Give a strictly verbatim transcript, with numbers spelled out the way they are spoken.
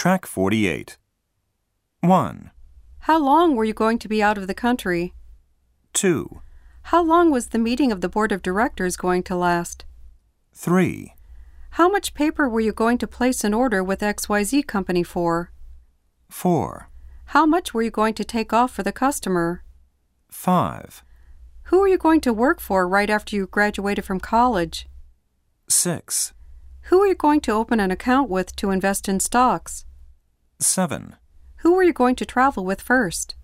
Track forty-eight. one. How long were you going to be out of the country? two. How long was the meeting of the board of directors going to last? three. How much paper were you going to place an order with X Y Z Company for? four. How much were you going to take off for the customer? five. Who were you going to work for right after you graduated from college? six. Who were you going to open an account with to invest in stocks? seven. Who were you going to travel with first?